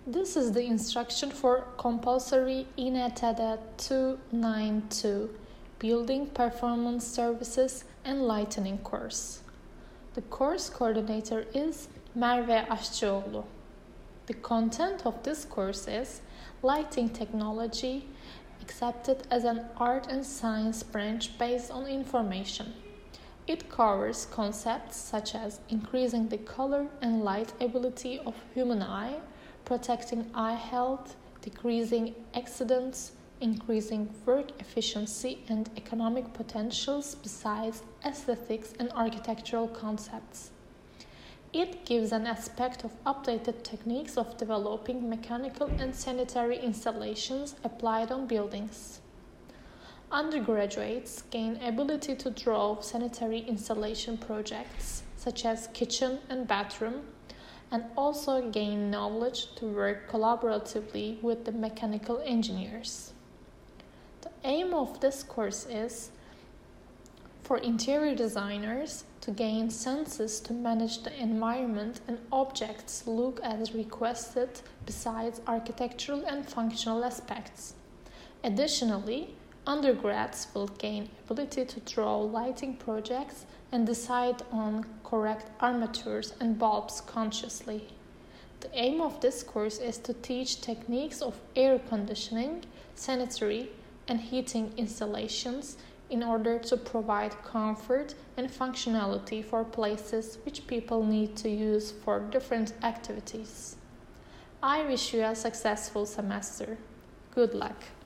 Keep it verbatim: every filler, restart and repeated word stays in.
This is the instruction for compulsory I N E T D two ninety-two Building Performance Services and Lighting course. The course coordinator is Merve Aşçıoğlu. The content of this course is Lighting Technology, accepted as an art and science branch based on information. It covers concepts such as increasing the color and light ability of human eye, protecting eye health, decreasing accidents, increasing work efficiency and economic potentials besides aesthetics and architectural concepts. It gives an aspect of updated techniques of developing mechanical and sanitary installations applied on buildings. Undergraduates gain ability to draw sanitary installation projects such as kitchen and bathroom, and also gain knowledge to work collaboratively with the mechanical engineers. The aim of this course is for interior designers to gain senses to manage the environment and objects look as requested besides architectural and functional aspects. Additionally, undergrads will gain ability to draw lighting projects and decide on correct armatures and bulbs consciously. The aim of this course is to teach techniques of air conditioning, sanitary, and heating installations in order to provide comfort and functionality for places which people need to use for different activities. I wish you a successful semester. Good luck!